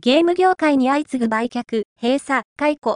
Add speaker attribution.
Speaker 1: ゲーム業界に相次ぐ売却、閉鎖、解雇、